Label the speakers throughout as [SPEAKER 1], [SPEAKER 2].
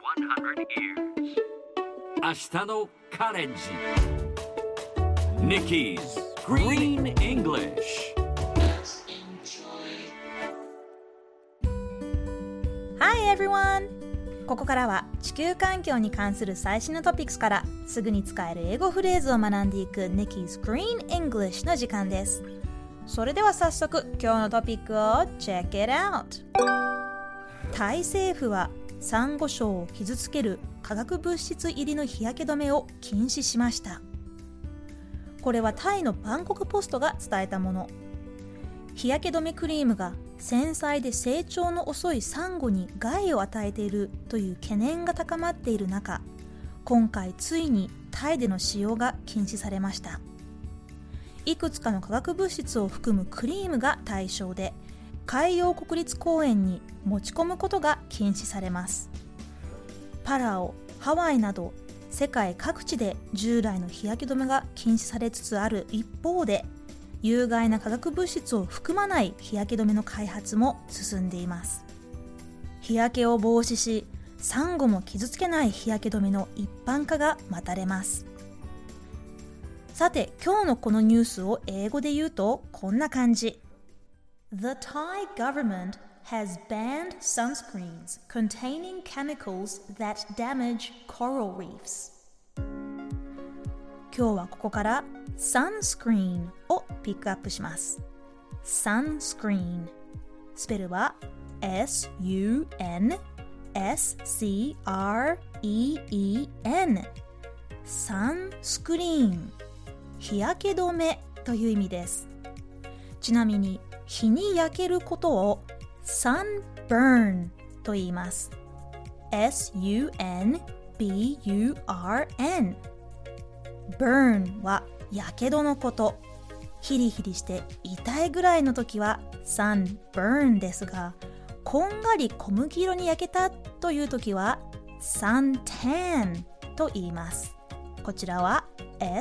[SPEAKER 1] years 明日のカレンジ Nikki's Green English
[SPEAKER 2] Hi everyone! ここからは地球環境に関する最新のトピックスからすぐに使える英語フレーズを学んでいく Nikki's Green English の時間です。それでは早速今日のトピックを Check it out! タイ政府はサンゴ礁を傷つける化学物質入りの日焼け止めを禁止しました。これはタイのバンコクポストが伝えたもの。日焼け止めクリームが繊細で成長の遅いサンゴに害を与えているという懸念が高まっている中、今回ついにタイでの使用が禁止されました。いくつかの化学物質を含むクリームが対象で、海洋国立公園に持ち込むことが禁止されます。パラオ、ハワイなど世界各地で従来の日焼け止めが禁止されつつある一方で、有害な化学物質を含まない日焼け止めの開発も進んでいます。日焼けを防止し、サンゴも傷つけない日焼け止めの一般化が待たれます。さて、今日のこのニュースを英語で言うとこんな感じ。The Thai government has banned sunscreens containing chemicals that damage coral reefs. 今日はここからsunscreen をピックアップします。sunscreen スペルは S-U-N-S-C-R-E-E-N サンスクリーン、日焼け止めという意味です。ちなみに日に焼けることを sunburn と言います。 S-U-N-B-U-R-N burn はやけどのこと。ヒリヒリして痛いぐらいの時は sunburn ですが、こんがり小麦色に焼けたという時は suntan と言います。こちらは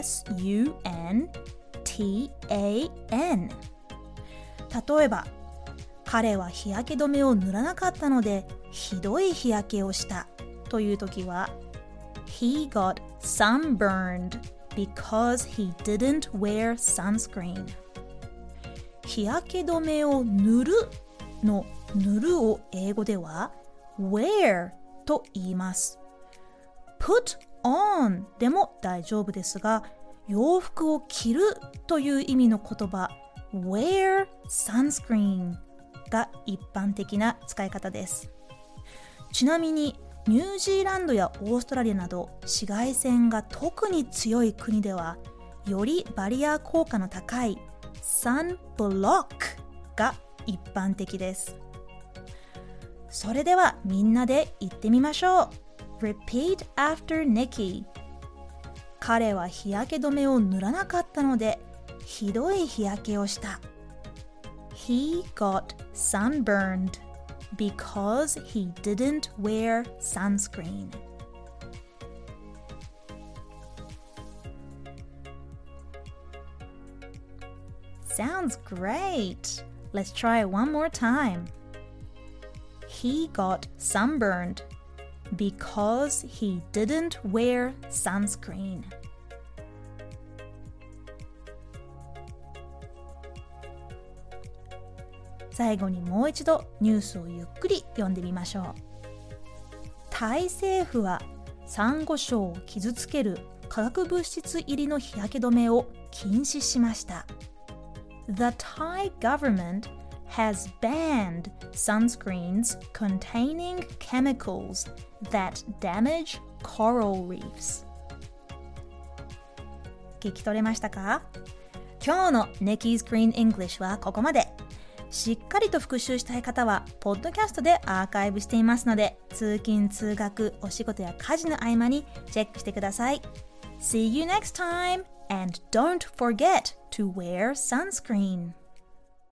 [SPEAKER 2] S-U-N-T-A-N。 例えば、彼は日焼け止めを塗らなかったのでひどい日焼けをしたという時は He got sunburned because he didn't wear sunscreen。 日焼け止めを塗るの塗るを英語では wear と言います。 put on でも大丈夫ですが、洋服を着るという意味の言葉 wear sunscreen が一般的な使い方です。ちなみにニュージーランドやオーストラリアなど紫外線が特に強い国では、よりバリア効果の高いサンブロックが一般的です。それではみんなで言ってみましょう。 Repeat after Nikki。 彼は日焼け止めを塗らなかったのでひどい日焼けをした。 He got sunburned because he didn't wear sunscreen. Sounds great! Let's try it one more time. He got sunburned because he didn't wear sunscreen. 最後にもう一度ニュースをゆっくり読んでみましょう。タイ政府はサンゴ礁を傷つける化学物質入りの日焼け止めを禁止しました。The Thai government has banned sunscreens containing chemicals that damage coral reefs. 聞き取れましたか？今日の Nikki's Green English はここまで。しっかりと復習したい方はポッドキャストでアーカイブしていますので、通勤通学お仕事や家事の合間にチェックしてください。 See you next time and don't forget to wear sunscreen.